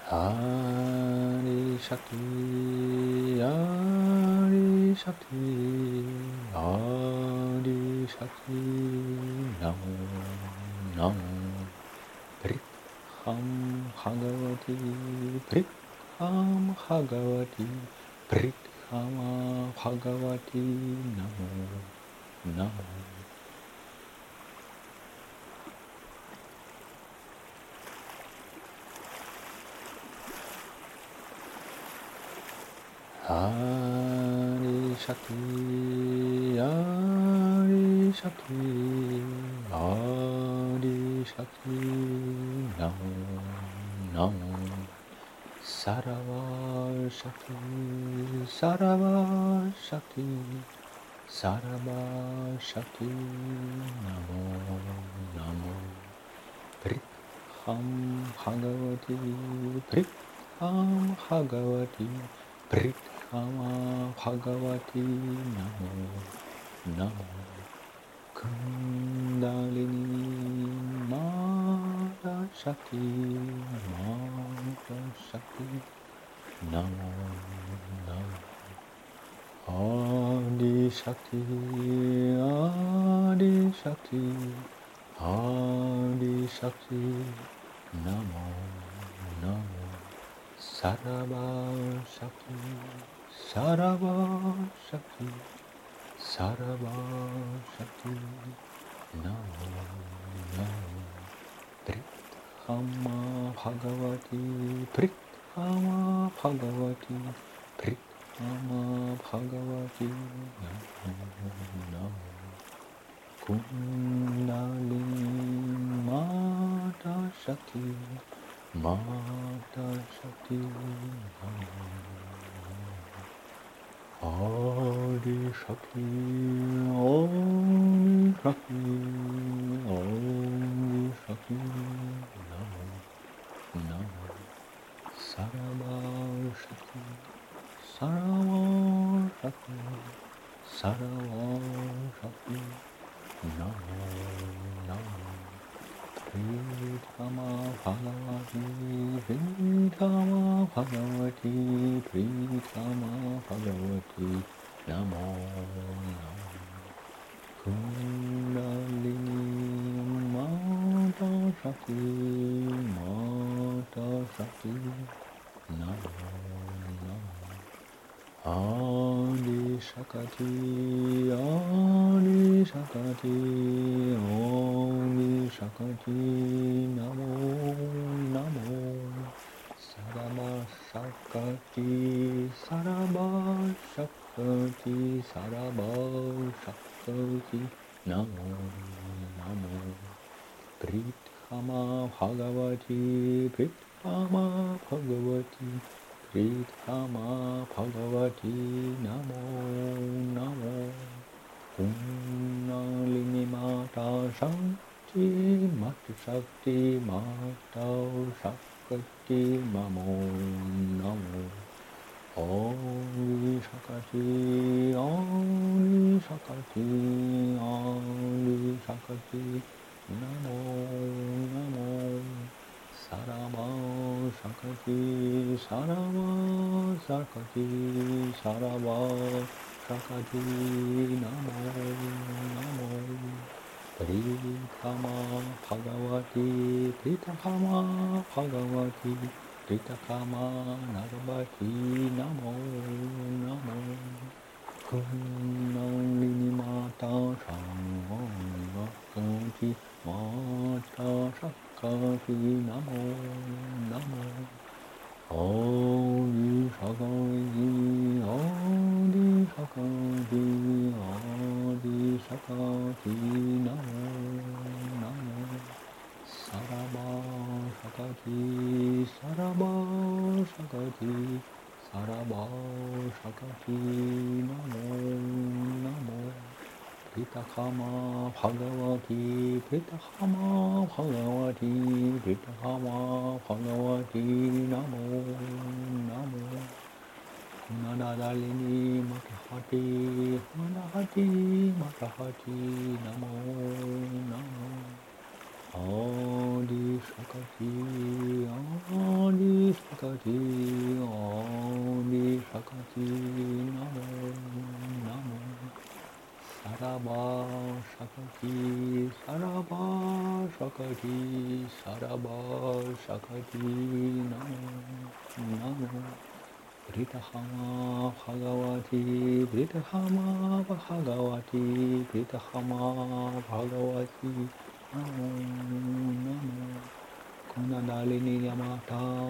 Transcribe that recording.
Hari Shakti, Hari Shakti, Hari Shakti, Namo, Namo, Pritham Bhagavati, Pritham Bhagavati, Prithama Bhagavati, Namo, Namo. Hari Shakti, Hari Shakti, Hari Shakti, Namo, Namo, Sarava Shakti, Sarava Shakti, Sarava Shakti, Namo, Namo, Pritham Bhagavati, Pritham Bhagavati, Prithama Bhagavati, Namo, Namo, Kundalini Mata Shakti, Mata Shakti, Namo, Namo, Adi Shakti, Adi Shakti, Adi Shakti, Namo, Namo, Sarava Shakti, Sarava Shakti, Sarava Shakti, Namo, Namo, Prithama Bhagavati, Prithama Bhagavati, Prithama Bhagavati, Namo, Namo, Kundalini Mata Shakti, Mata Shakti, Adi Shakti, Adi Shakti, Adi Shakti, Namo, Namo, Sarava Shakti, Sarava Shakti, Sarava Shakti, Namo, Namo, Prithama Bhagavati, Prithama Bhagavati, Prithama Bhagavati, Namo, Namo, Kundalini Mata Shakti, Mata Shakti, Namo, Namo, Adi Shakti, Adi Shakti, Adi Shakti, Namo, Namo, Sarava Shakti, Sarava Shakti, Sarava Shakti, Namo, Namo, Prithama Bhagavati, Prithama Bhagavati, Prithama Bhagavati, Namo, Namo, Kundalini Mata Shakti, Mata Shakti, Mata Shakti, Namo, Namo, Adi Shakti, Adi Shakti, Adi Shakti, Namo, Namo, Sarava Shakti, Sarava Shakti, Sarava Shakti, Namo, Namo, Prithama Bhagavati, Prithama Bhagavati, Prithama Narvati, Namo, Namo, Kundalini Mata Shakti, Mata Shakti, Namo, Namo, Adi Shakti, Adi Shakti, Adi Shakti, Namo, Namo, Sarava Shakti, Sarava Shakti, Sarava Shakti, Namo, Namo, Prithama Bhagavati, Prithama Bhagavati, Prithama Bhagavati, Namo, Namo, Nadalini Matahati, Matahati, Matahati, Namo, Namo, Adi Shakti, Adi Saraba Shakati, Saraba Shakati, Namo, Namo. Britahama Bhagavati, Britahama Bhagavati, Britahama Bhagavati, Namo, Namo. Kunandalini Yamata,